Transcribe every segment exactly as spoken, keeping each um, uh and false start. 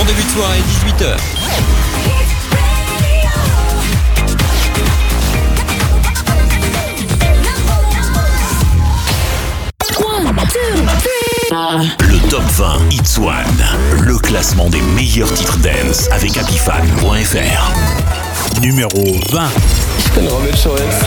début de soirée, dix-huit heures. Le top vingt Hits One, le classement des meilleurs titres dance avec Apifan point F R. Numéro vingt. Je peux le remettre sur S.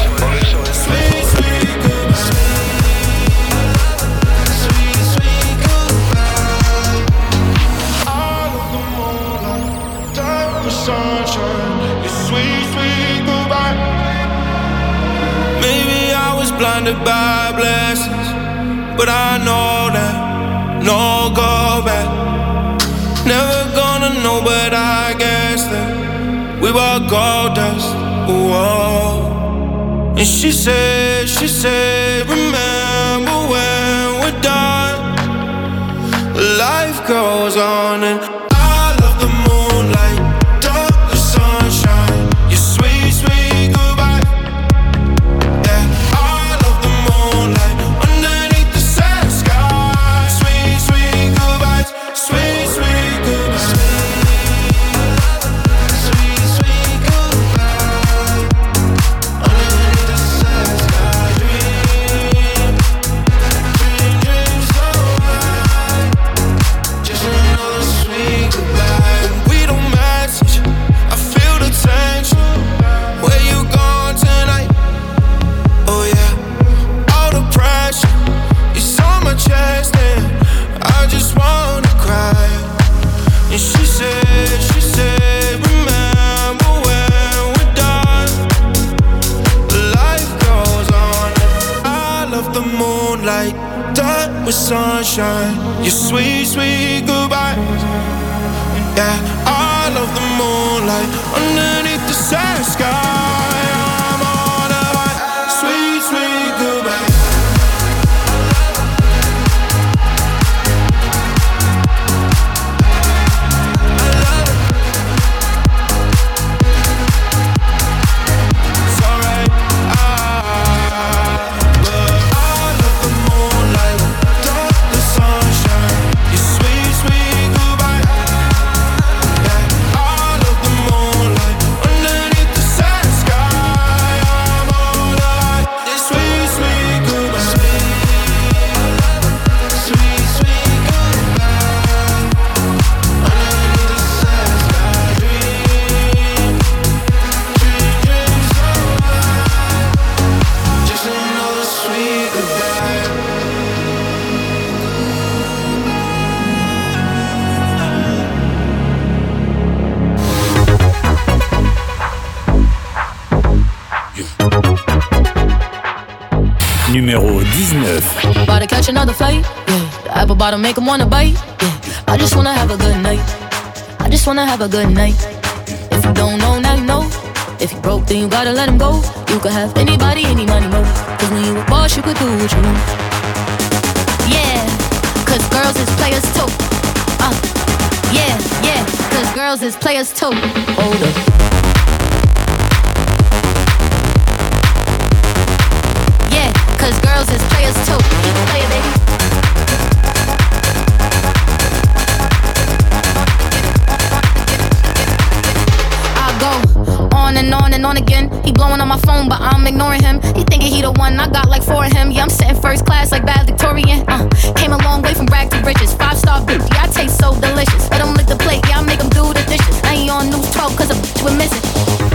Maybe I was blinded by blessings, but I know that no go back. Never gonna know, but I guess that we were gold dust. Whoa. And she said, she said, remember when we're done, life goes on. And I love the moonlight, dark the sunshine, your sweet, sweet goodbye. Yeah, I love the moonlight underneath the sad sky. Sweet, sweet goodbyes, sweet, sweet goodbyes. Sweet, sweet goodbye. Underneath the sad sky, dream, dream, dream so high. Just another sweet goodbye. When we don't message, I feel the tension. Where you going tonight? Oh yeah, all the pressure is on my chest and I just wanna cry. And she said, she said, remember when we're done, life goes on. I love the moonlight, dark with sunshine, your sweet, sweet goodbyes. Yeah, I love the moonlight underneath the sad sky. I'm on a high, sweet, sweet goodbye. I love it. It's alright. I, but I love the moonlight, dark the sunshine, your sweet, sweet goodbye. Yeah, I love the moonlight underneath the sad sky. I'm on a high, this sweet, sweet goodbye. Sweet, sweet goodbye. Underneath the sad sky, dream, dream, dream so high. Just another sweet goodbye. Numéro dix-neuf. About to catch another flight, yeah. The apple bottom make him wanna bite, yeah. I just wanna have a good night. I just wanna have a good night. If you don't know, now you know. If you broke, then you gotta let him go. You could have anybody, any money, mo. Cause when you a boss, you could do what you want. Yeah, cause girls is players too. Uh, yeah, yeah, cause girls is players too. Hold up. Yeah, cause girls is players too. You can play it, baby. I go on and on and on again. He blowing on my phone, but I'm ignoring him. He thinking he the one, I got like four of him. Yeah, I'm sitting first class like bad Victorian. Uh, came a long way from rag to riches. Five star bitch, yeah, I taste so delicious. Let him lick the plate, yeah, I make him do the dishes. I ain't on news twelve cause a bitch we're missing.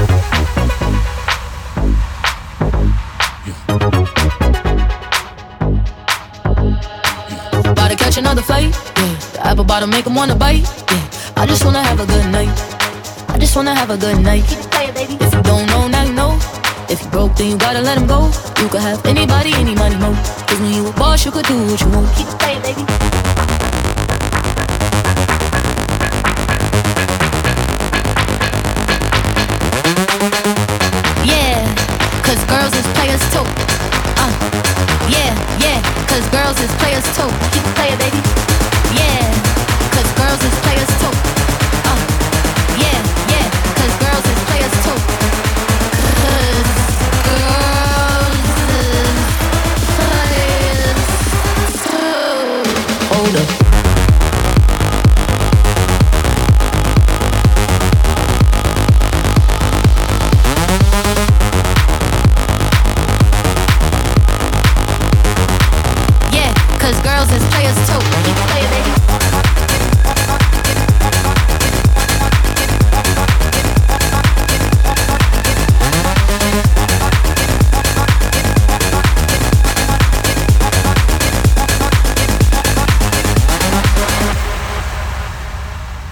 About to catch another flight, yeah. The apple bottom make him wanna bite, yeah. I just wanna have a good night. I just wanna have a good night. If you don't know, now you know. If you broke, then you gotta let him go. You could have anybody, any money, mo. Cause when you a boss, you could do what you want. Keep it playing, baby. Yeah, cause girls is players too. Uh, yeah, yeah, cause girls is players too. Keep it playing, baby. Yeah, cause girls is players too. Uh, yeah, yeah, cause girls is players too. Cause girls is players too.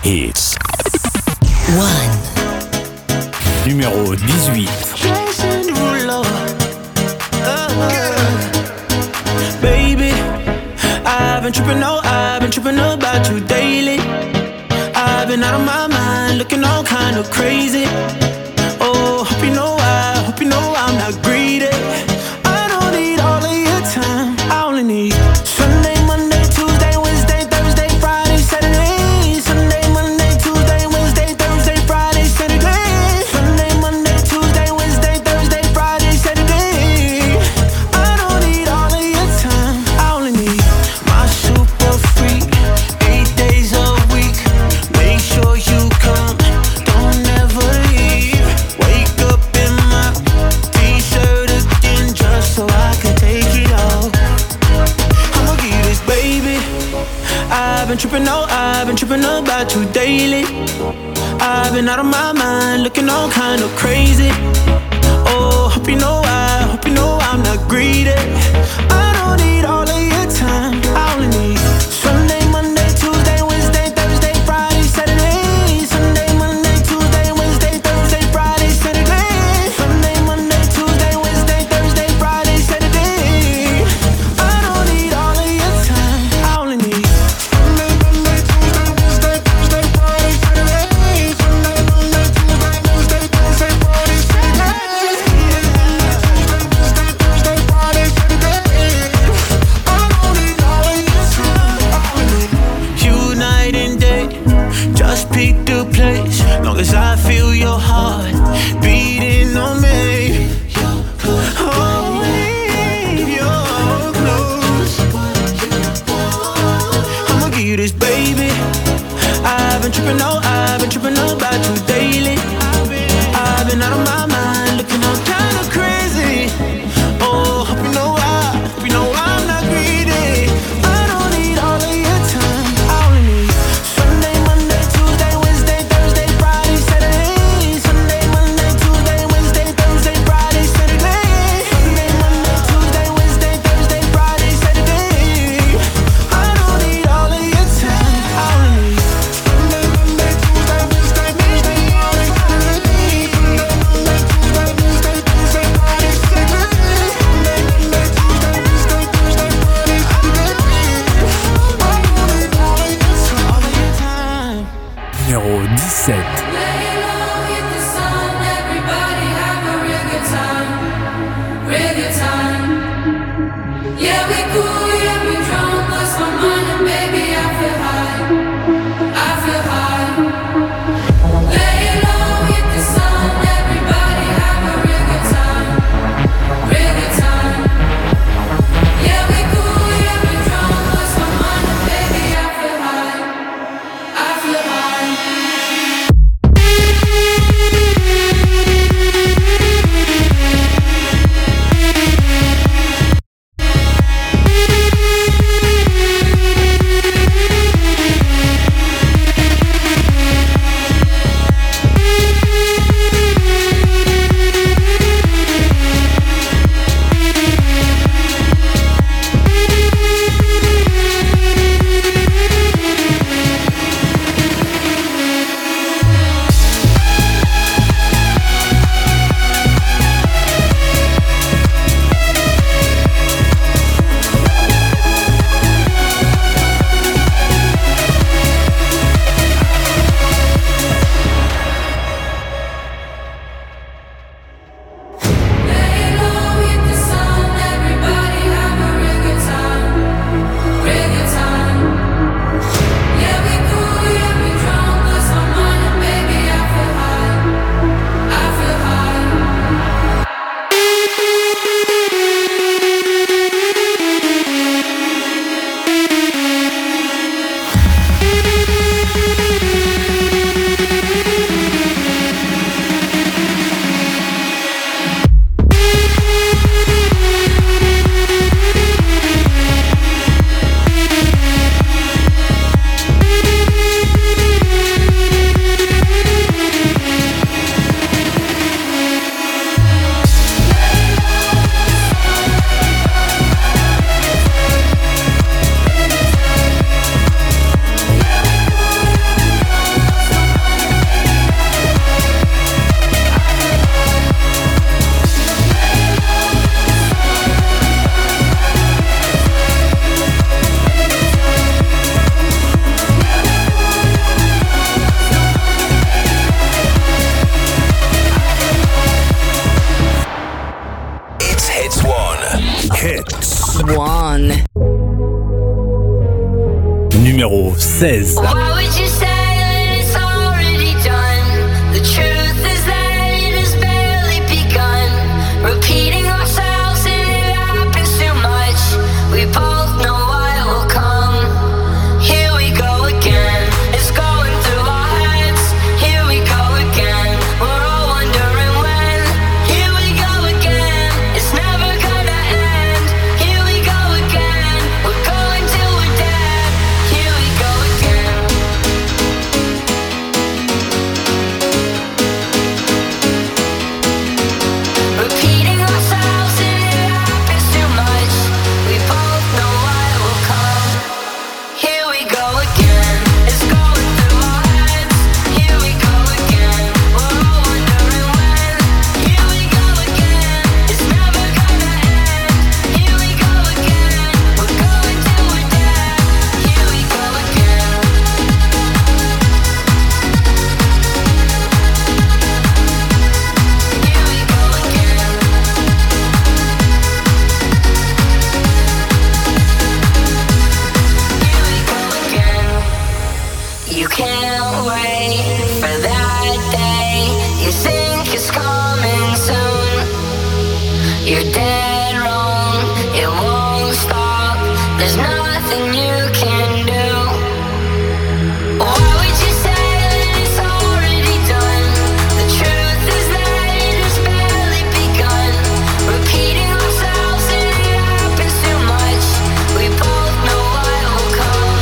Hits. One. Numéro dix-huit. Jason Derulo. Oh. Baby, I've been tripping, oh, I've been tripping about you daily. I've been out of my mind, looking all kind of crazy. Oh, hope you know I, hope you know I'm not greedy. I don't need all of your time, I only need Sunday, Monday, Tuesday, Wednesday, Thursday, Friday, Saturday. Sunday, Monday, Tuesday, Wednesday, Thursday, Friday, Saturday. Sunday, Monday, Tuesday, Wednesday, Thursday, Friday, Saturday. I don't need all of your time, I only need my super freak, eight days a week. Make sure you come, don't ever leave. Wake up in my t-shirt again just so I can take it off. I'ma give you this, baby. I've been tripping, oh, I've been tripping about you daily. I've been out of my mind, looking all kind of crazy. Oh, hope you know I, hope you know I'm not greedy. I don't need all of your time, I only need Sunday, Monday, Tuesday, Wednesday, Thursday, Friday, Saturday. Sunday, Monday, Tuesday, Wednesday, Thursday, Friday, Saturday. Sunday, Monday, Tuesday, Wednesday, Thursday, Friday, Saturday. I don't need all of your time, I only need Sunday, Monday, Tuesday, Wednesday, Thursday, Friday, Saturday. Sunday, Monday, Tuesday, Wednesday, Thursday, Friday, Saturday. Tuesday, Thursday, Friday, Saturday. I don't need all of your time, I only need you night and day. Just pick the place, long as I feel your heart beating on me. Oh, leave your clothes. I'ma give you this, baby. I've been tripping, oh, I've been tripping about you daily. I've been out of my mind, looking all kind of crazy. Oh, hope you know I, hope you know I'm not greedy. I don't need all of your time, I only need Sunday, Monday, Tuesday, Wednesday, Thursday, Friday, Saturday. Sunday, Monday, Tuesday, Wednesday, Thursday, Friday, Saturday. Sunday, Monday, Tuesday, Wednesday, Thursday, Friday, Saturday. I don't need all of your time, I only need Sunday, Monday, Tuesday, Wednesday, Thursday, Friday, Saturday. Sunday, Monday, Tuesday, Wednesday, Thursday, Friday, Saturday. Sunday, Monday, Tuesday, Wednesday, Thursday, Friday, Saturday. I don't need all of your time, all of your time. Numéro dix-sept. Lay low, hit the sun, everybody have a real good time, real good time. Yeah, we cool, yeah, we drunk, lost my mind, and baby, I feel high, I feel high. Lay low, hit the sun, everybody have a real good time, real good time. Yeah, we cool, yeah, we drunk, lost my mind, and baby, I feel high, I feel high. seize. Why would you say that it's already done? The truth is that it has barely begun. Repeating ourselves and it happens too much. We both know what will come. Here we go again. It's going through our heads. Here we go again. We're all wondering when. Here we go again. It's never gonna end. Here we go again. We're going till we're dead. Here we go again. Repeating ourselves and it happens too much. We both know what will come. Here we go again. It's going through our heads. Here we go again. We're all wondering when. Here we go again. It's never gonna end. Here we go again. We're going till we're dead. Here we go again. Here we go again. Here we go again. You can't wait for that day. You think it's coming soon. You're dead wrong. It won't stop. There's nothing you can do. Why would you say that it's already done? The truth is that it has barely begun. Repeating ourselves and it happens too much. We both know what will come.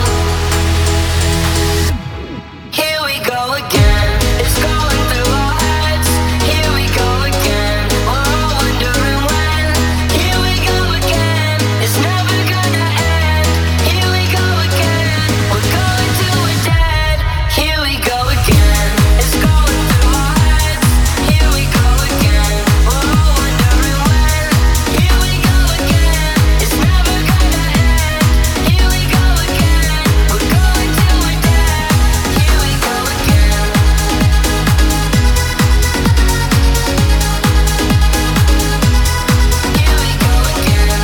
Here we go again. It's going through our heads. Here we go again. We're all wondering when. Here we go again. It's never gonna end. Here we go again. We're going till we're dead. Here we go again. It's going through our heads. Here we go again. We're all wondering when. Here we go again. It's never gonna end. Here we go again. We're going till we're dead. Here we go again. Here we go again.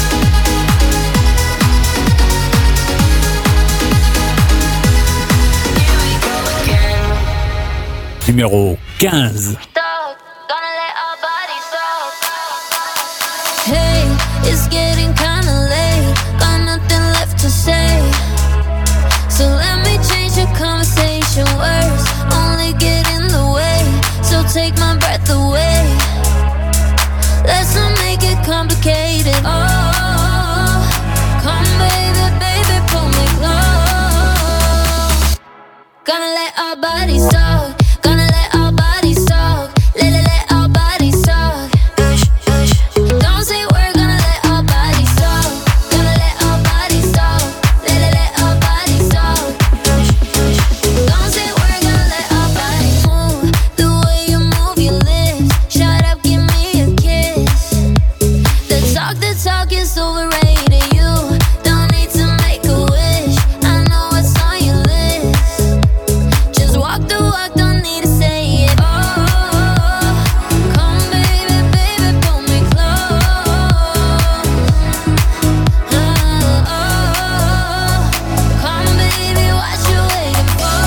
Here we go again. Numéro quinze. Dog, gonna let our bodies talk. Hey, it's getting kinda late. Got nothing left to say. So let me change the conversation. Words only get in the way. So take my breath away. Let's not make it complicated. Oh, come baby, baby, pull me close. Gonna let our bodies talk. Gonna let our bodies talk. Let, let, let our bodies talk. Don't say we're gonna let our bodies talk. Gonna let our bodies talk. Let, let, let our bodies talk. Don't say we're gonna let our bodies move. The way you move your lips. Shut up, give me a kiss. The talk, the talk is overrated. You don't need to make a wish. I know what's on your list. Just walk the walk, don't need to say it. Oh, come baby, baby, pull me close. Oh, come baby, what you waiting for?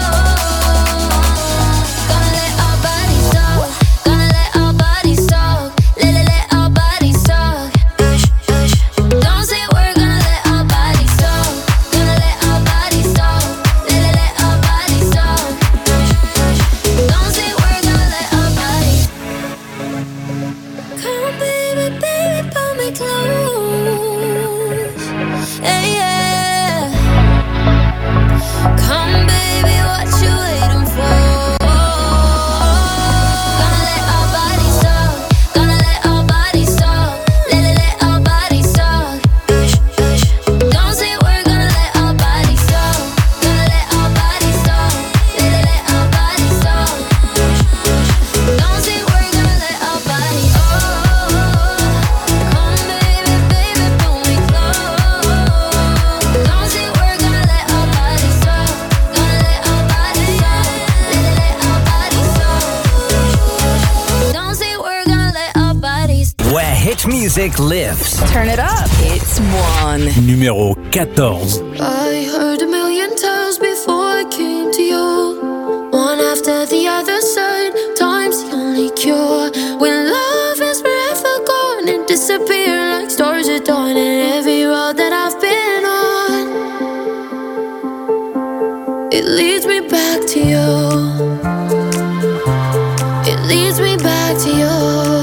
Gonna let our bodies talk. Gonna let our bodies talk. Let, let, let our bodies talk. Don't say we're gonna let our bodies talk. Gonna let our bodies talk. Let, let, let our bodies talk. Don't say we're gonna let our bodies. Come baby, baby, pull me close. Hey, yeah. Come baby, what you waiting for? Gonna let our bodies talk. Gonna let our bodies talk. Let, let, let our bodies talk. Don't say we're gonna let our bodies talk. Gonna let our bodies talk. Let, let, let our bodies talk. Don't say we're gonna let our bodies. Oh, come baby, baby, pull me close. Don't say we're gonna let our bodies talk. Gonna let our bodies talk. Let, let, let our bodies talk. Don't say we're gonna let our bodies. Where hit music lives. Turn it up. It's one. Numéro quatorze. I heard a million times It leads me back to you. It leads me back to you.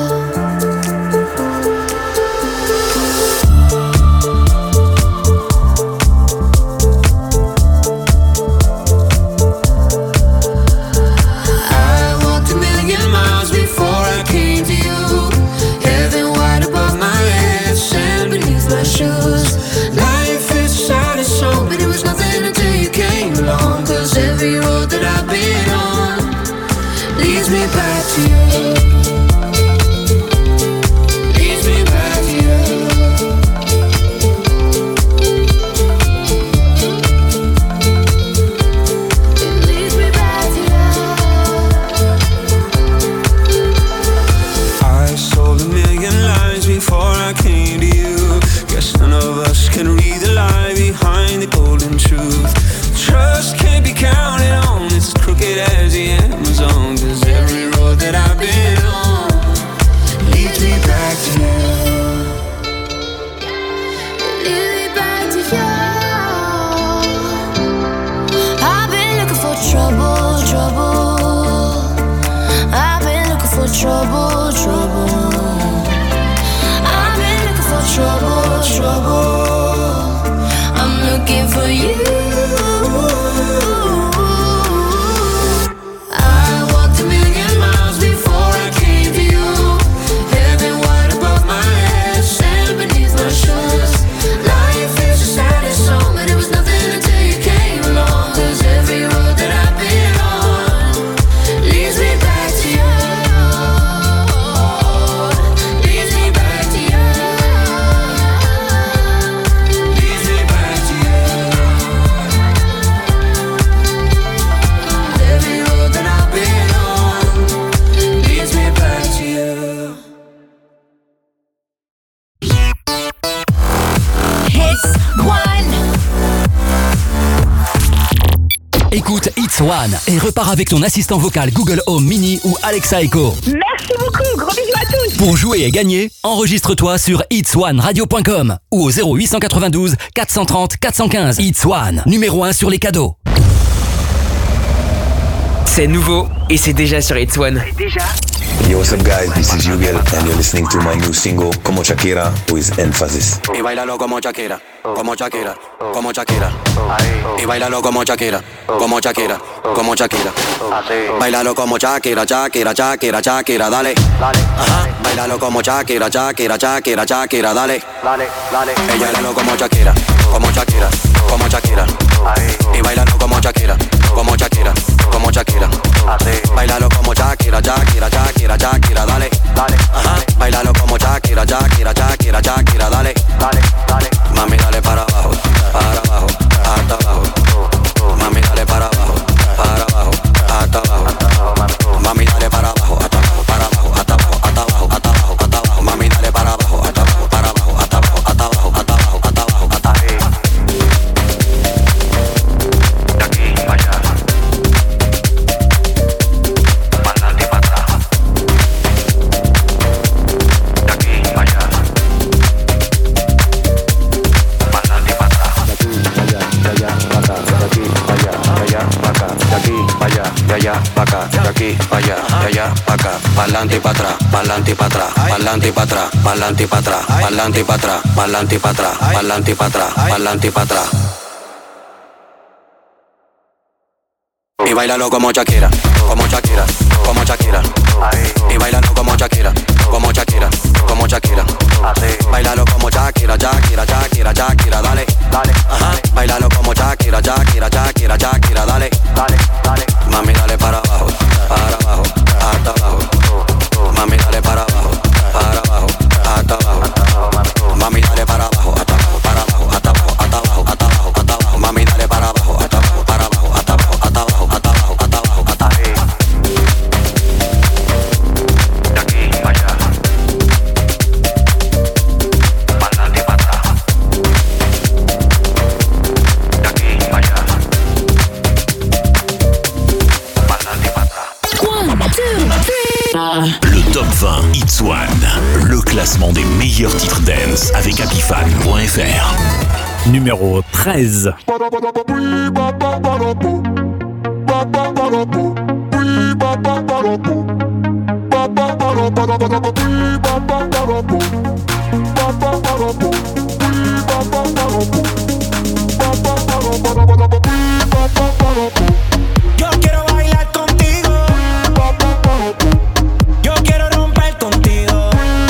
Every road that I've been on leads me back to you. Leads me back to you. It leads me back to you. I sold a million lies before I came to you. Guess none of us can read the lie behind the golden truth. Trust can't be counted on, it's as crooked as the Amazon. Cause every road that I've been on leads me back to you. Lead me back to you. I've been looking for trouble, trouble. I've been looking for trouble, trouble. I've been looking for trouble, trouble. I'm looking for you. Écoute It's One et repars avec ton assistant vocal Google Home Mini ou Alexa Echo. Merci beaucoup, gros bisous à tous. Pour jouer et gagner, enregistre-toi sur its one radio point com ou au zéro huit cent quatre-vingt-douze quatre cent trente quatre cent quinze. It's One, numéro un sur les cadeaux. C'est nouveau et c'est déjà sur It's One. C'est déjà. Yo, what's up guys, this is Yugel and you're listening to my new single Como Shakira with Emphasis. Y bailalo como Shakira, como Shakira, como Shakira. Y bailalo como Shakira, como Shakira, como Shakira. Bailalo como Shakira, Shakira, Shakira, Shakira, dale. Ajá. Bailalo como Shakira, Shakira, Shakira, Shakira, dale. Dale, dale. Ella bailalo como Shakira, como Shakira, como Shakira. Y bailalo como Shakira, como Shakira, como Shakira. Bailalo como Shakira, Shakira, Shakira, Shakira, dale. Dale. Ajá. Bailalo como Shakira, Shakira, Shakira, Shakira, dale. Dale, dale. Mami, dale para abajo, para abajo, hasta abajo. Mami, dale para abajo, para abajo, hasta abajo. Mami, dale para abajo, hasta abajo, para abajo, hasta abajo, hasta abajo, hasta abajo, hasta abajo. Mami, dale para abajo, hasta abajo, para abajo, hasta abajo, hasta abajo, hasta abajo, hasta abajo, hasta abajo. De aquí para allá. Para adelante y para atrás. De aquí para allá. Para adelante y para atrás. De aquí para allá, de allá para acá. De aquí para allá, de allá para acá. De aquí para allá, de allá para acá. De aquí para allá, de allá para acá. Para adelante y para atrás, para adelante y para atrás. Para adelante y para atrás, para adelante y para atrás. Para adelante y para atrás, para adelante y para atrás. Para adelante y para atrás, para adelante y para atrás. Y bailalo como Shakira, como Shakira, como Shakira. Y bailalo como Shakira, como Shakira, como Shakira. Bailalo como Shakira, Shakira, Shakira, Shakira, dale, dale. Ajá. Bailalo como Shakira, Shakira, Shakira, Shakira, dale, dale, dale. Mami, dale para abajo, para abajo, hasta abajo. Mami, dale para abajo, para abajo, hasta abajo. Mami, dale para abajo, hasta abajo, para abajo, hasta abajo, hasta abajo, hasta abajo, hasta abajo. Mami, dale para abajo, hasta abajo, para abajo, hasta abajo, hasta abajo, hasta abajo, hasta abajo, hasta abajo. De aquí para allá. Para adelante y para atrás. De aquí para allá. Para adelante y para atrás. Le Top vingt It's One, le classement des meilleurs titres dance avec Apifan point F R. Numéro treize. Yo quiero bailar contigo. Yo quiero romper contigo.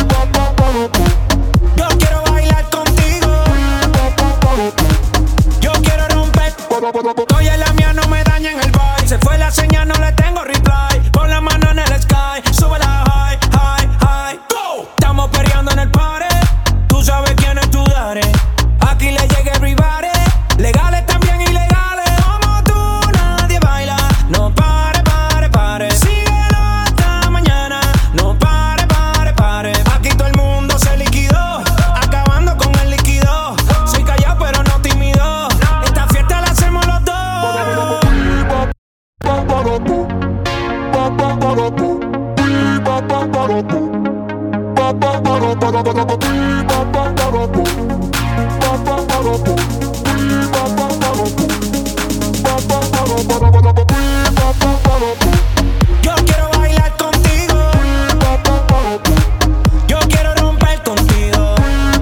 Yo quiero bailar contigo. Yo quiero romper. Estoy en la mía, no me dañen el vibe. Se fue la señal, no le tengo reply. Pon la mano en el sky, sube la high, high, high. Go. Estamos perreando en el party. Tú sabes quién es tu daddy. Aquí le llega everybody. Legales también ilegales. Como tú nadie baila. No pare, pare, pare. Síguelo hasta mañana. No pare, pare, pare. Aquí todo el mundo se liquidó. Acabando con el líquido. Soy callado pero no tímido. Esta fiesta la hacemos los dos. Yo quiero bailar contigo. Yo quiero romper contigo.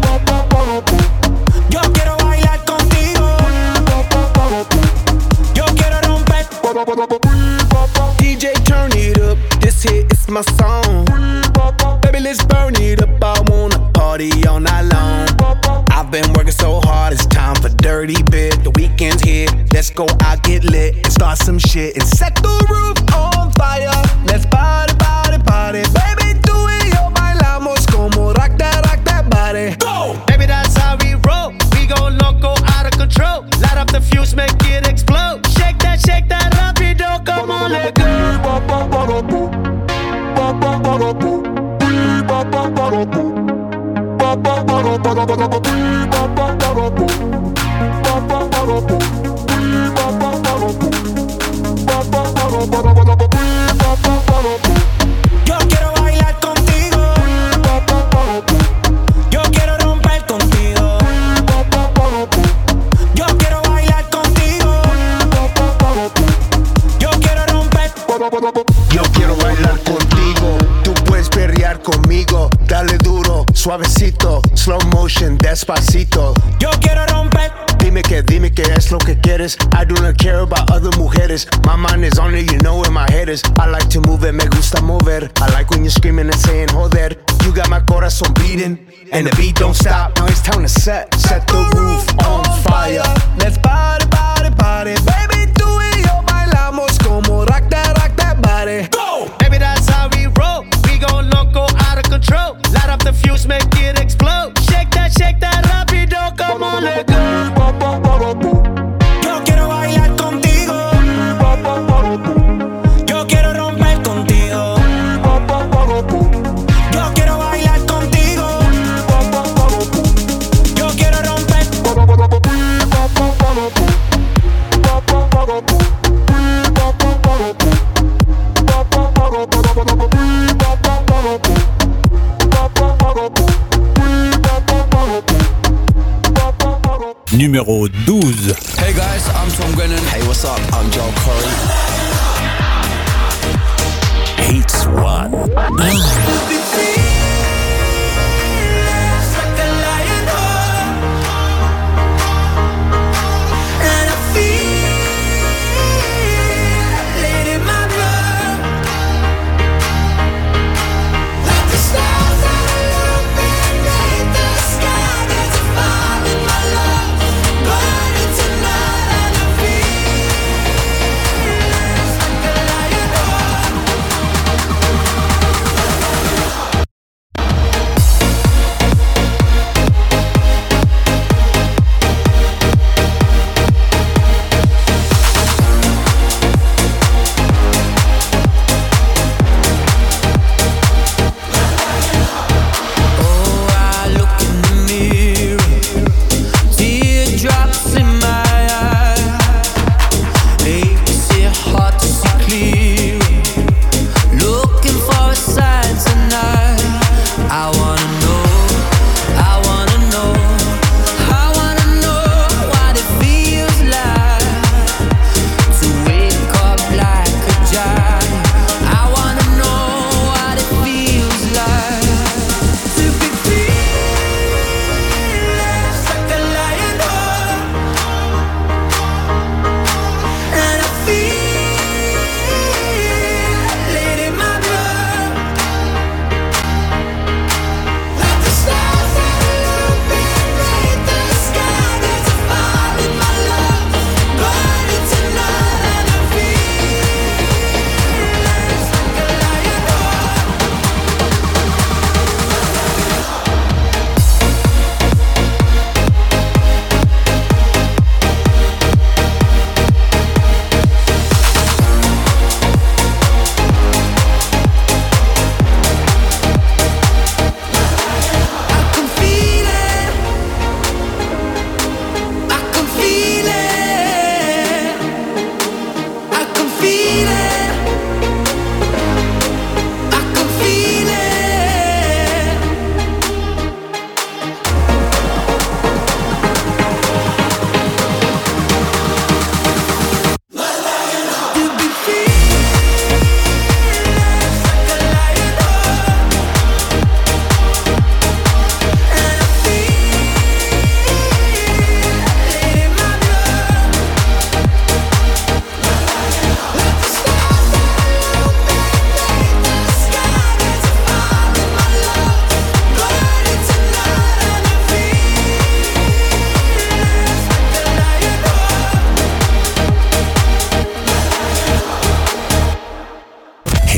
Yo quiero bailar contigo. Yo quiero romper. D J, turn it up. This hit is my song. Baby, let's burn it up. I wanna party all night long. I've been working so hard, it's time for dirty bit. The weekend's here, let's go out, get lit, and start some shit and set the roof on fire. Let's party, party, party. Baby, tú y yo bailamos como rock that, rock that body. Go! Baby, that's how we roll. We go loco, out of control. Light up the fuse, make it explode. Shake that, shake that rapido, come on, let go. Yo quiero bailar contigo. Yo quiero romper contigo. Yo quiero bailar contigo. Yo quiero romper. Yo quiero bailar contigo, tú puedes perrear conmigo. Dale duro, suavecito, slow motion, despacito. Yo quiero romper. Dime que, dime que es lo que quieres. I do not care about other mujeres. My mind is on it, you know where my head is. I like to move it, me gusta mover. I like when you're screaming and saying joder. You got my corazón beating, and the beat don't stop. Now it's time to set, set the roof on fire. Let's party, party, party. Baby, tú y yo bailamos como rock that, rock that body. Go! Baby, that's how we roll. We go loco, out of control. Light up the fuse, make it explode. Shake that, shake that rapido, come on, let go. Yo quiero bailar contigo. Yo quiero romper contigo. Yo quiero bailar contigo. Yo quiero romper. Numéro douze. Hey guys, I'm Tom Grennan. Hey, what's up? I'm Joel Corey. Hits One. Burning tonight and I feel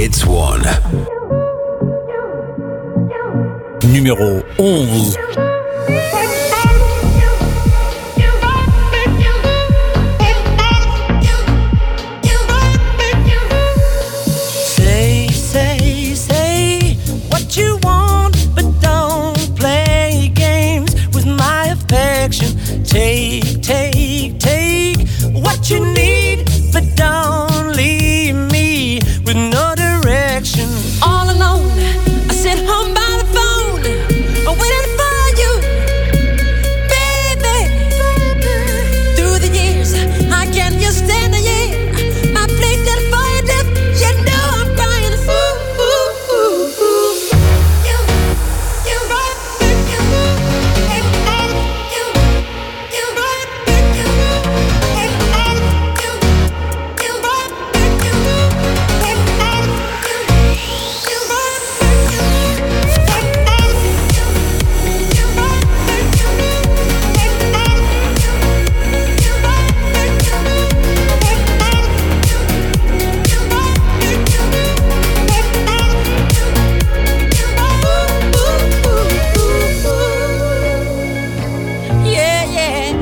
Hits One. Numéro onze. Say, say, say what you want, but don't play games with my affection. Take, take, take what you need, but don't leave me with no direction. All alone, I sit home by the phone, I'm waiting for you, baby. Through the years, I can't just stand here. My plate that for you dip, you know I'm crying. Ooh, ooh, ooh, ooh. You, you, yeah, yeah.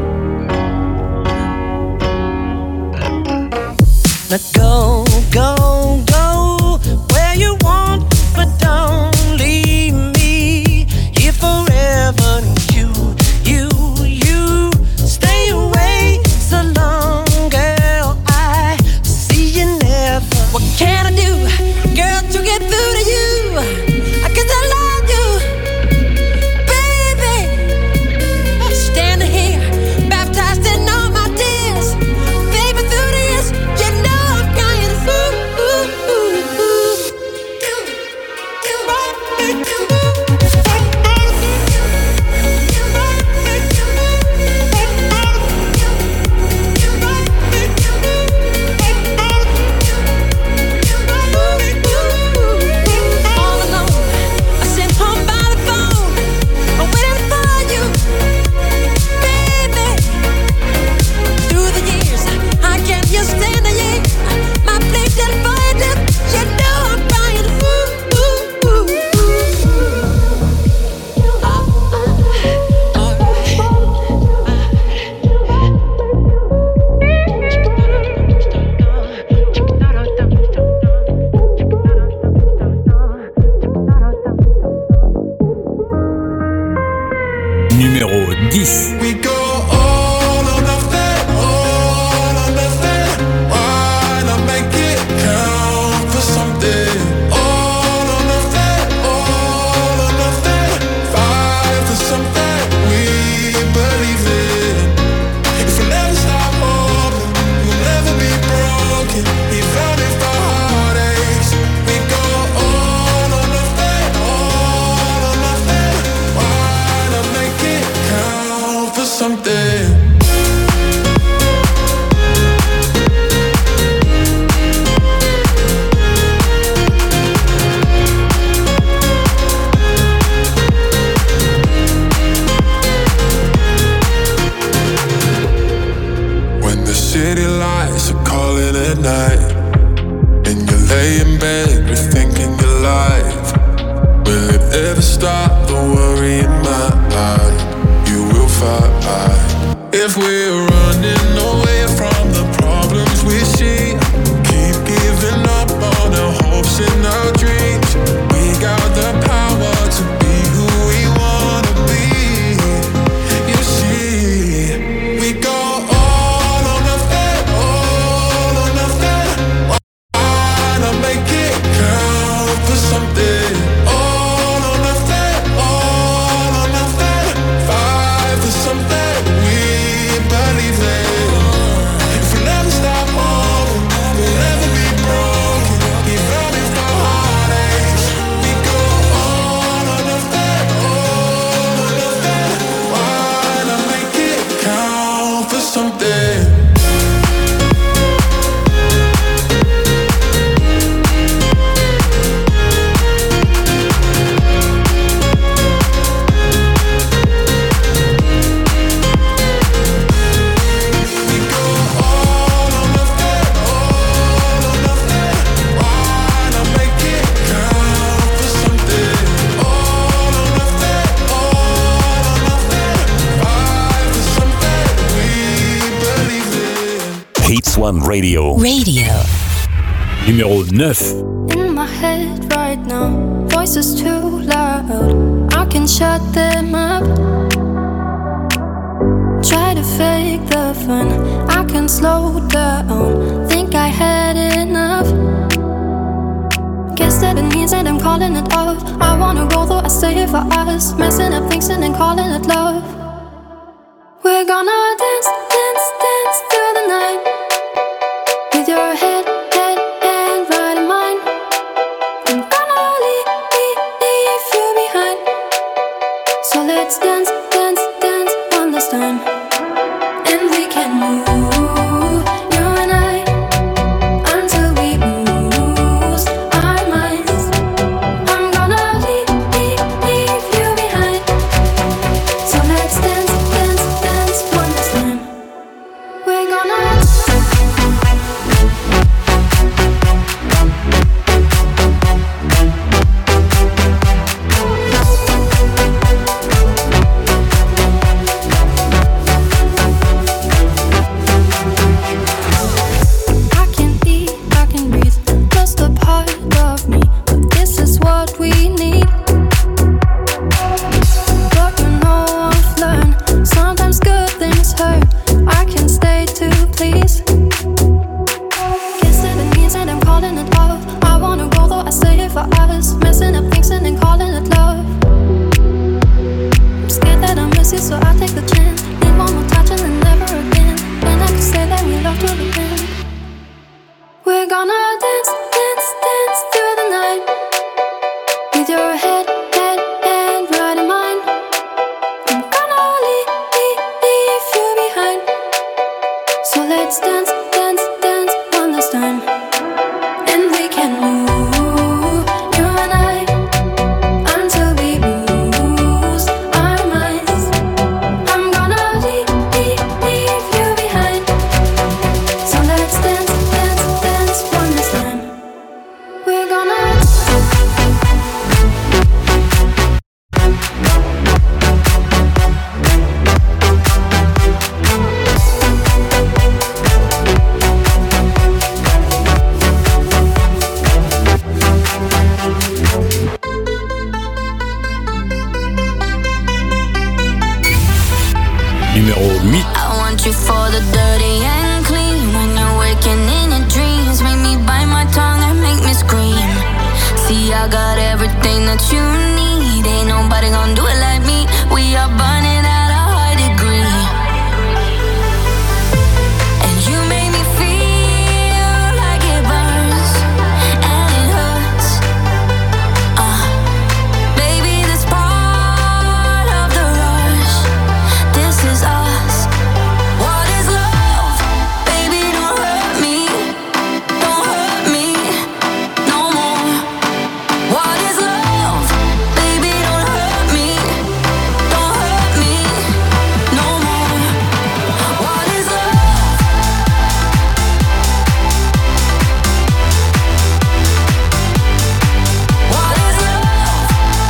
Now go, go, go where you want, but don't leave me here forever. You, you, you stay away so long, girl. I see you never. What can I do, girl, to get through to you? I guess I love you, baby. Standing here, baptized in all my tears, baby. Through the years, you know I'm crying. Ooh, ooh. one Radio. Radio. Numéro neuf. In my head right now, voices too loud. I can shut them up. Try to fake the fun, I can slow down. Think I had enough. Guess that it means that I'm calling it off. I wanna go though I stay for us. Messing up things and then calling it love. We're gonna dance, dance, dance through the night. With your head, head, and right in mine. I'm gonna leave, leave, leave you behind. So let's dance, dance, dance one last time. And we can move, you and I, until we lose our minds. I'm gonna leave, leave, leave you behind. So let's dance, dance, dance one last time. We're gonna I can eat, I can breathe, just a part of me. But this is what we need. But you know I've learned, sometimes good things hurt. I can stay to please. Guess that it means that I'm calling it off. I wanna go though I stay for us. Messing up things and then calling it love. I'm scared that I miss you, so I take the chance. Need one more touch and then never again. Then I can say that we love to the end. We're gonna dance, dance, dance through the night. With your head, head, and right in mine. I'm gonna leave, leave, leave you behind. So let's dance, dance, dance one last time. And we can move, you and I, until we lose our minds. I'm gonna leave, leave, leave you behind. So let's dance, dance, dance one last time. We're gonna Numéro huit. I want you for the dirty and clean. When you're waking in your dreams, make me bite my tongue and make me scream. See, I got everything that you need. Ain't nobody gonna do it like me. We are burning at a high degree. And you make me feel like it burns and it hurts. Uh, baby, this part of the rush. This is us. What is love? Baby, don't hurt me. Don't hurt me no more. What is love? Baby, don't hurt me. Don't hurt me no more. What is love? What is love?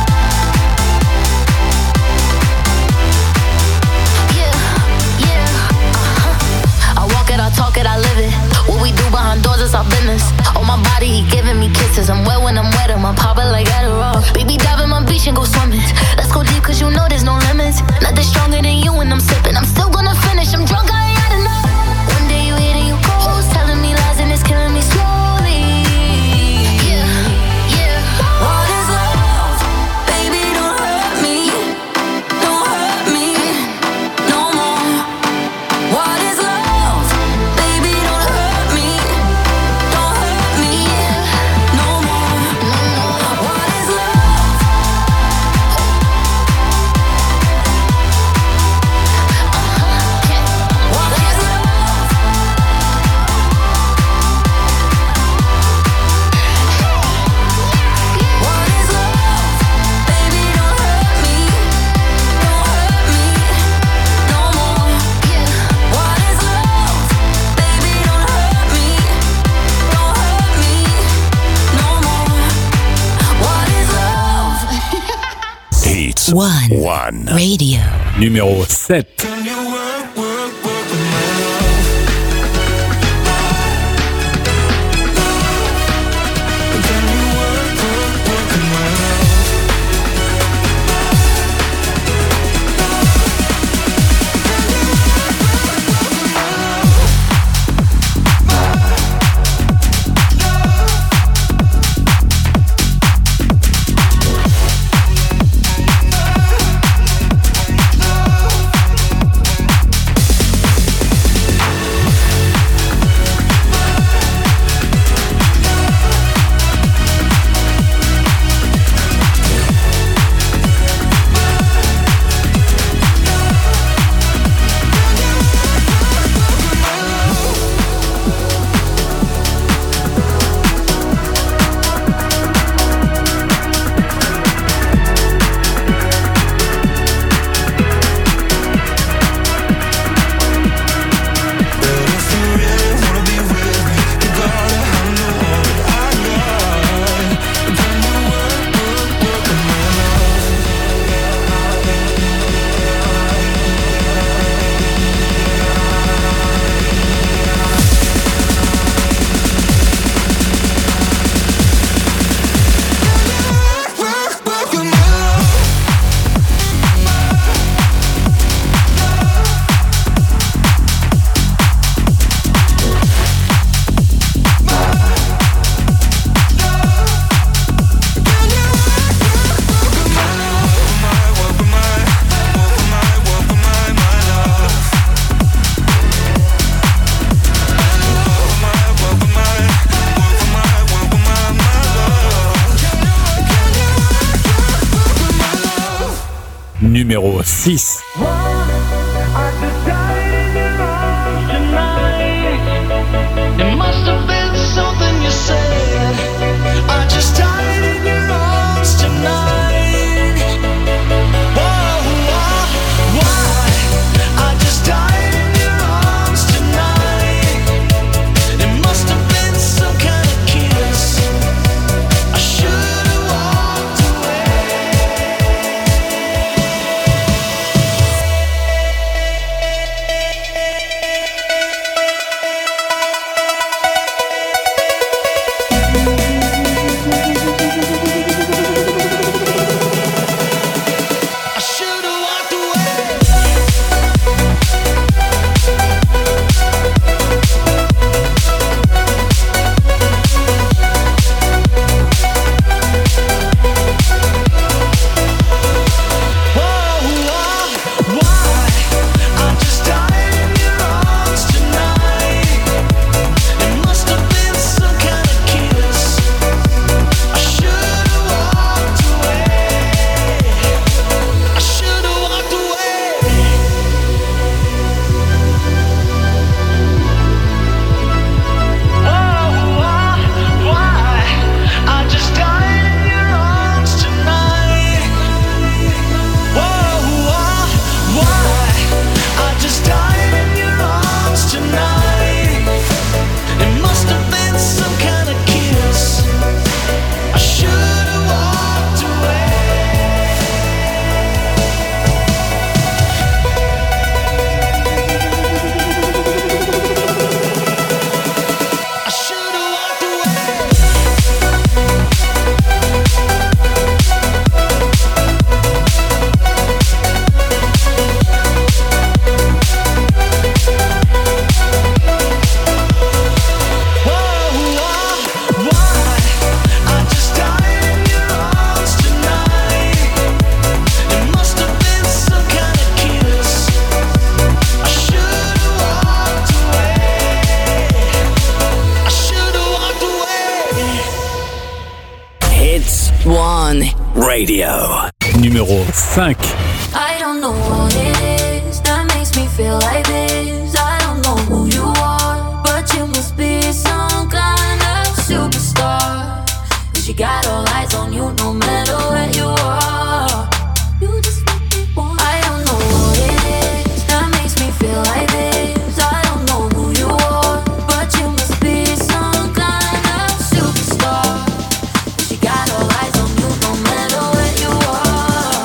Yeah, yeah, uh-huh. I walk it, I talk it, I live it. What we do behind doors is our business. On my body, he giving me kisses. I'm wet when I'm wet, I'm popping like Adderall. Baby, dive in my beach and go swimming. Let's go deep, cause you know there's no limits. Nothing stronger than you when I'm sipping. I'm still gonna finish, I'm drunk, I ain't had enough. One day you hit and you close, telling me lies and it's killing me slowly. Yeah, yeah. What is love? Baby, don't hurt me. Don't hurt me no more. What is love? Baby, don't hurt me. Don't hurt me no more. What is love? What is love? What is love? Baby, don't hurt me. Don't hurt me no more. What is love? Baby, don't hurt me. Don't hurt me no more. What is love? Hits One. One. Radio. Numéro sept. Can you work, work, work the love? numéro six. It must have been something you said. I just died in your arms tonight. Whoa, why, why? I just died in your arms tonight. It must have been some kind of kiss. I should have walked Radio. Numéro cinq. I don't know what it is that makes me feel like this. I don't know who you are, but you must be some kind of superstar. 'Cause you got all eyes on you no matter where you are. You just make me want. I don't know what it is that makes me feel like this. I don't know who you are, but you must be some kind of superstar. 'Cause you got all eyes on you no matter where you are.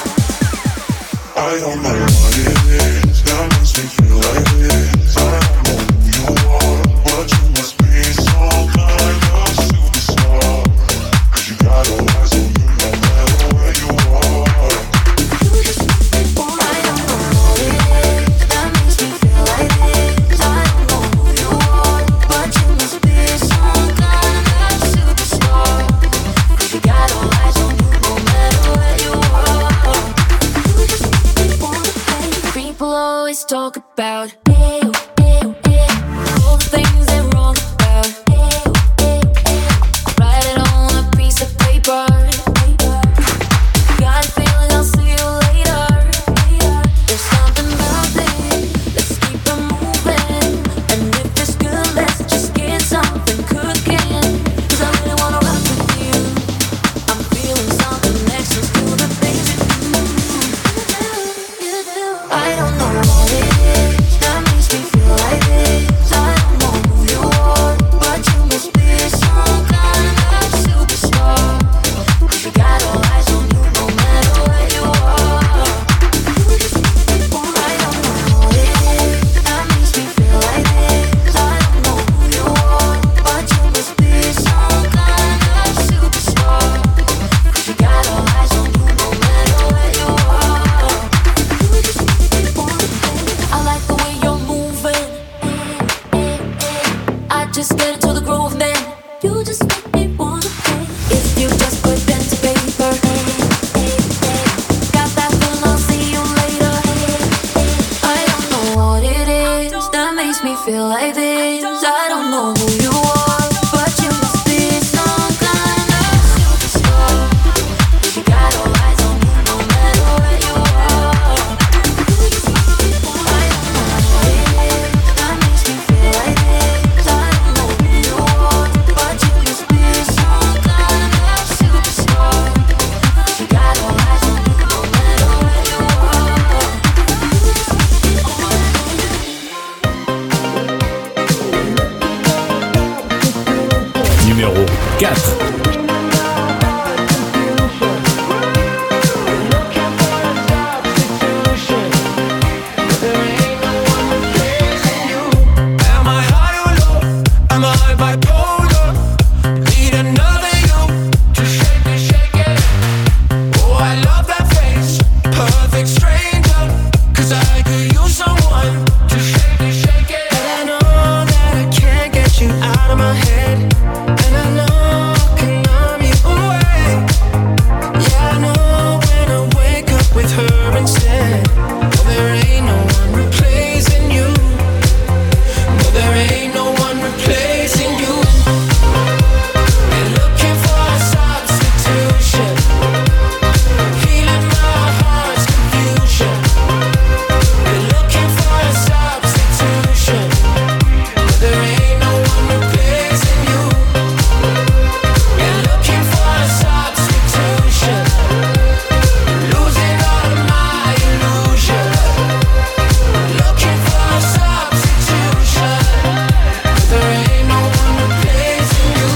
I don't know what it is that makes me feel like this. I don't know who you are, but you must be some kind of superstar. 'Cause you got all eyes on you no matter where you are. I don't know what it is that makes me feel like this. I don't know who you are, but you must be some kind of superstar. 'Cause you got all eyes on you no matter where you are. People always talk about ew, ew, ew, all the things they're wrong about. Ew, ew, ew. Write it on a piece of paper. Got a feeling I'll see you later. There's something about this. Let's keep it moving. And if it's good, let's just get something cooking. 'Cause I really wanna rock with you. I'm feeling something next to the things you do. I don't know what it is that Numéro quatre. Am I high or low? Am I bipolar? Need another you to shake it, shake it. Oh, I love that face, perfect stranger. 'Cause I could use someone to shake it, shake it. But I know that I can't get you out of my head. And I know I can numb you away. Yeah, I know when I wake up with her instead. No, there ain't no one replacing you. No, there ain't no one replacing you. Been looking for a substitution, healing my heart's confusion. Been looking for a substitution, but there ain't no one replacing you. Been looking for a substitution, losing all of my illusion. Looking for a substitution, but there ain't no one replacing you.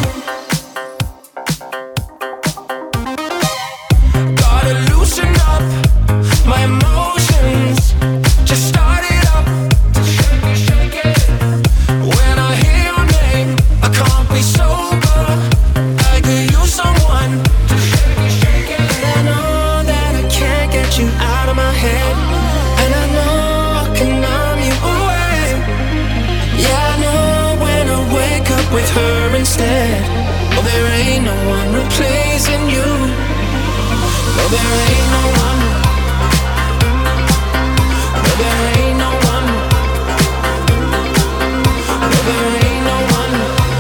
Gotta loosen up my emotions. Just start it up, shake it, shake it. When I hear your name, I can't be sober. I could use someone to shake it, shake it. And I know that I can't get you out of my head. And I know I can numb you away. Yeah, I know when I wake up with her instead. Oh, there ain't no one replacing you. No, there ain't no one. No, there ain't no one. No, there ain't no one.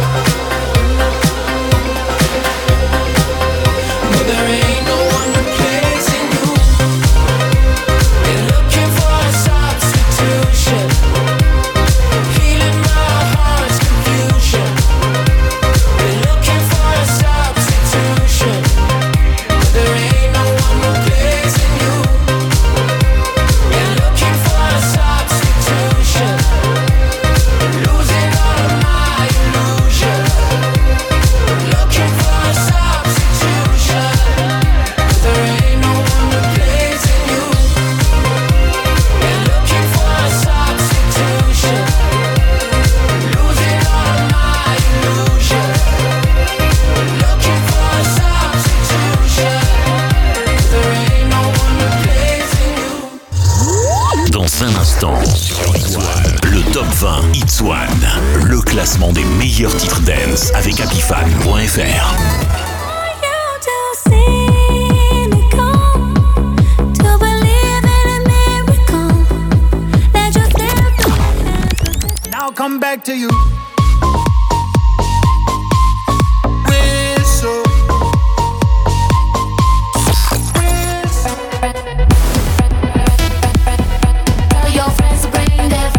No, there ain't no one replacing you. Been looking for a substitution, healing my heart's confusion. Been looking for a substitution, but there ain't no one replacing you. Been looking for a substitution, losing all of my illusion. Looking for a substitution, but there ain't no one replacing you. Been looking for a substitution, losing all of my illusion. Looking for a substitution, but there ain't no one replacing you. Dans un instant, le top vingt Hits One, le classement des meilleurs titres dance avec Apifan point F R. Now come back to you. Whistle. Tell your friends to bring their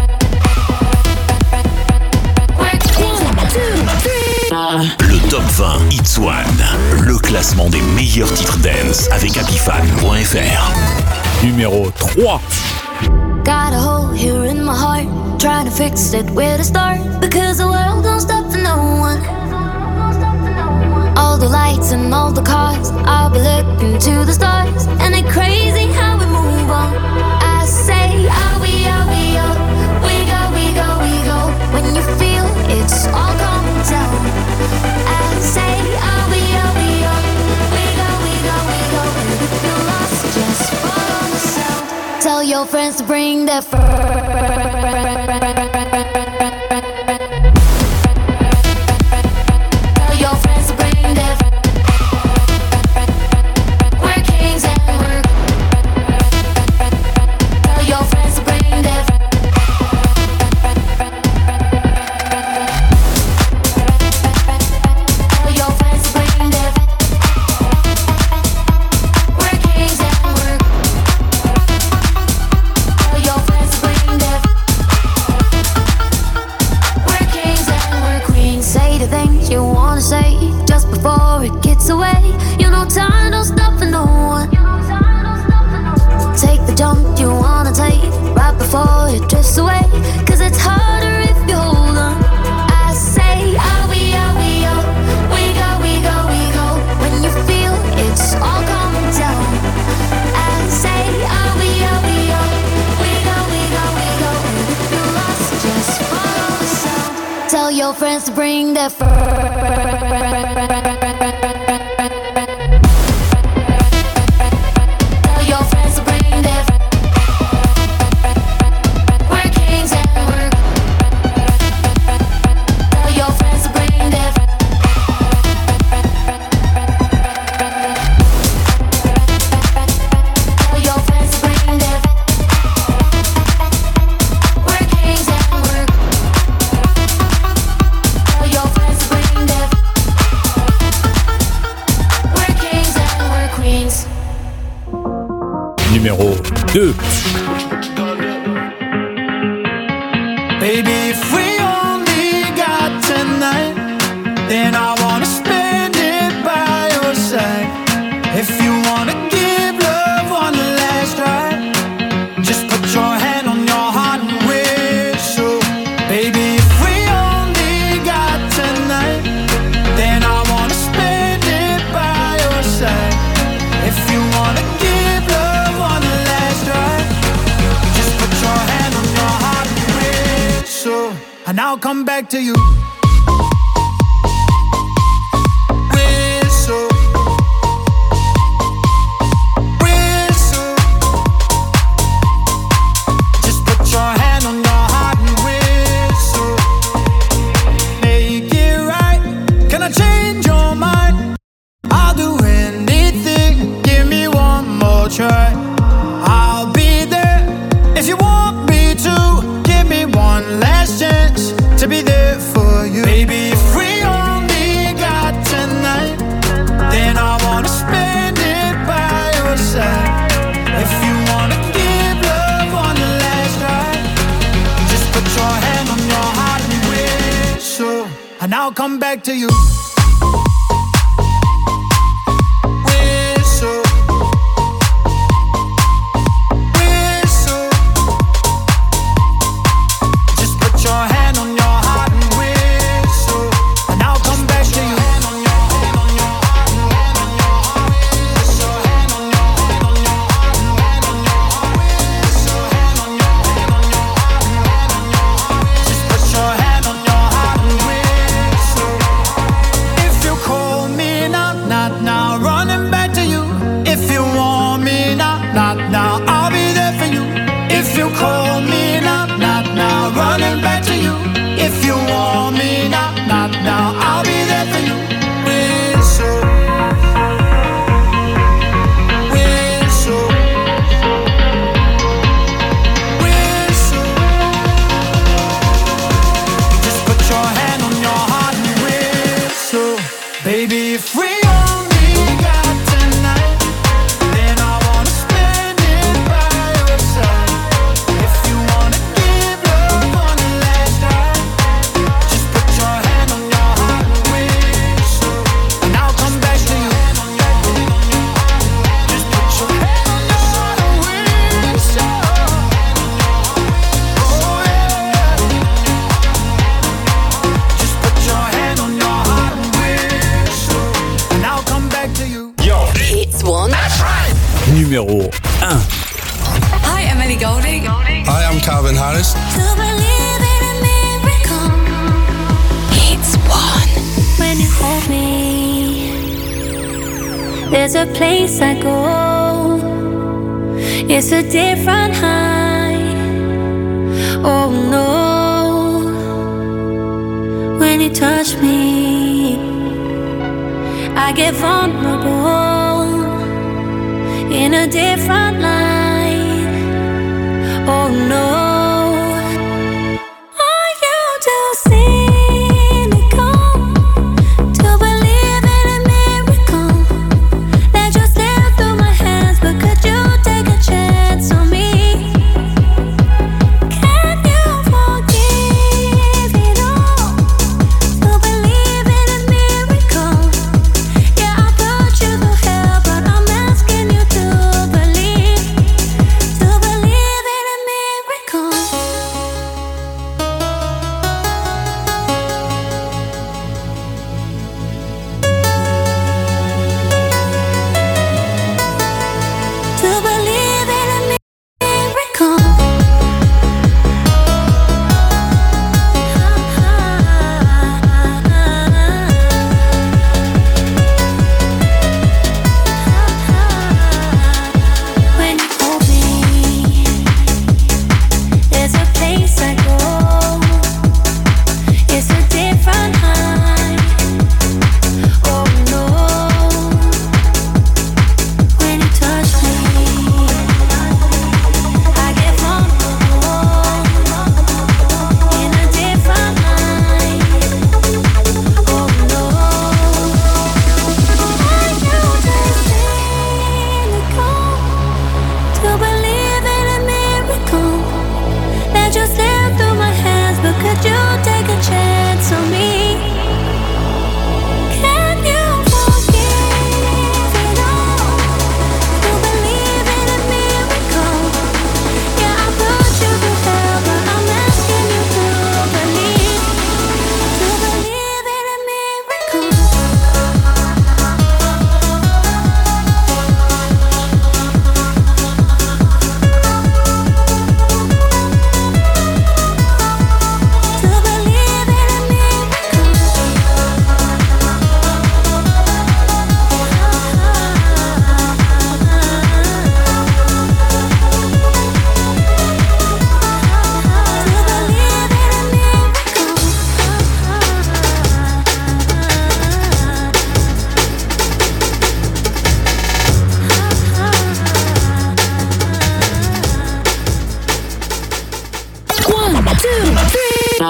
Le top vingt Hits One, le classement des meilleurs titres dance avec Apifan point F R. Numéro trois. Got a hole here in my heart, trying to fix it where to start. Because the world don't stop for no one. All the lights and all the cars, I'll be looking to the stars. And it's crazy how we move on. I say, are we, are we, oh, we go, we go, we go. When you feel it's all coming down. I say, are we, are we, oh, we go, we go, we go. And if you're lost, just follow the sound. Tell your friends to bring their Tell your friends to bring their We're kings and we're Tell your friends to bring their Tell your friends to bring their We're kings and we're Tell your friends to bring their your friends to bring their friends. Tell your friends to bring their friends. We're kings and we're. Tell your friends to bring their friends. Tell your friends to bring their friends. We're kings and we're. Tell your friends to bring their friends. We're kings and we're queens. Numéro deux. Baby, if we only got tonight, then I wanna spend it by your side. If you wanna give love one last try, just put your hand on your heart and whistle. Baby, if we only got tonight, then I wanna spend it by your side. If you wanna give love one last try, just put your hand on your heart and whistle, and I'll come back to you. Whistle, whistle. Just put your hand on your heart and whistle. Make it right. Can I change your mind? I'll do anything. Give me one more try. I'll be there if you want me to. Give me one last chance to be there for you. Baby, if we only got tonight, then I wanna spend it by your side. If you wanna give love one last try, just put your hand on your heart and whistle, and I'll come back to you. Whistle, whistle. Just put your hand on your heart and whistle, and I'll come back to you. Just put your hand on your heart and whistle. If you call me now, not now, running back to you. If you want me now, not now, I'll be there for you. If you call me now, not now, running back to you. If you want me now, not now, I'll be there for you. Whistle, whistle, whistle. Just put your hand on your heart and whistle. Baby, if we only got tonight, then I wanna spend it by your side. If you wanna give love one last try, just put your hand on your heart and whistle, and I'll come back to you. Just put your hand on your heart and whistle. Oh yeah. Just put your hand on your heart and whistle, and I'll come back to you. It's one. Numéro un. Hi, Emily Golding. Hi, I'm Calvin Harris. To believe in a miracle. It's one. When you hold me, there's a place I go. It's a different high. Oh no. When you touch me, I get vulnerable in a different light. Oh no. Are you too cynical to believe in a miracle that just slipped through my hands? But could you take a chance on me? Can you forgive it all to believe in a miracle? Yeah, I put you through hell, but I'm asking you to believe.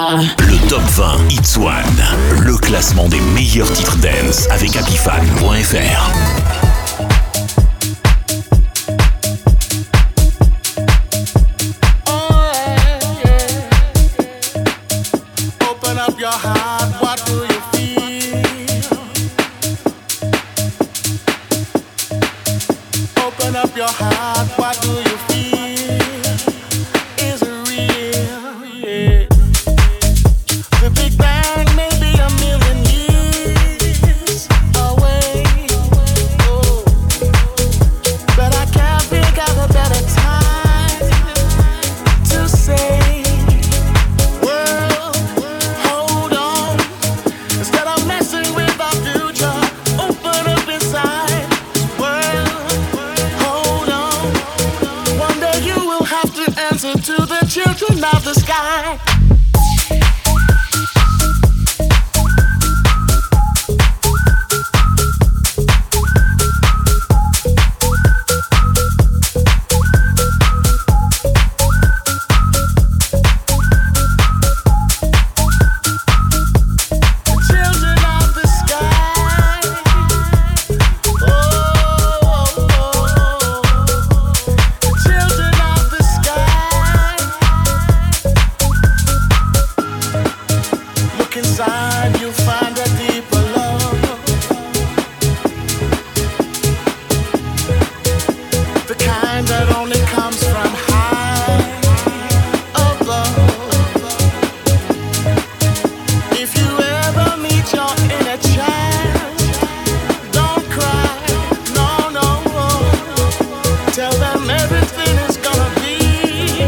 Le top vingt Hits One, le classement des meilleurs titres dance avec happy fan point f r. Open up your heart, what do you feel? Open up your heart, what do you feel? Is it real? Yeah. The Big Bang may be a million years away. Oh. But I can't think of a better time to say, world, hold on. Instead of messing with our future, open up inside. World, hold on. One day you will have to answer to the children of the sky. Children of the sky. Oh, children of the sky. Look inside, you'll find a deeper love. The kind that only comes from high above. If you ever meet your inner child, don't cry, no, no. Tell them everything is gonna be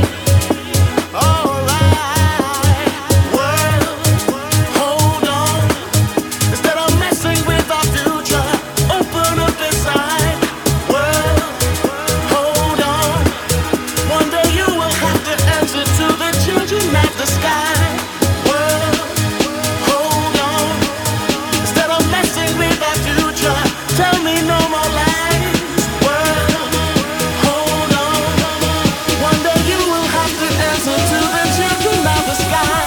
alright. World, hold on. Instead of messing with our future, open up inside. World, hold on. One day you will have to answer to the children of the sky. World, hold on. Instead of messing with our future, tell me no more lies. World, hold on. One day you will have to answer to the children of the sky.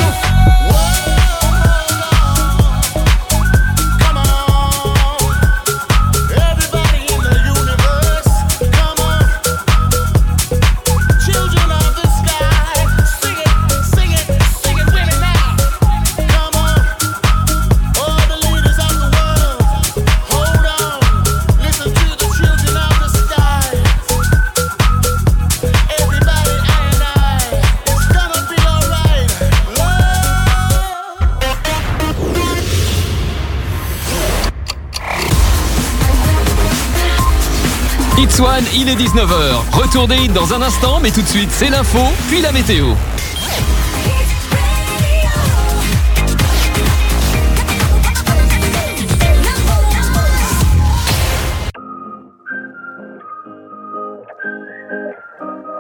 Come on, everybody in the universe, come on. Children of the sky, sing it, sing it, sing it with me now. Come on, all the leaders of the world, hold on. Listen to the children of the sky. Everybody, I and I, it's gonna be alright. Hits One, il est dix-neuf heures. Retour des hits dans un instant, mais tout de suite, c'est l'info, puis la météo.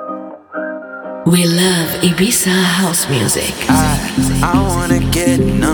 We love Ibiza house music. I wanna get numb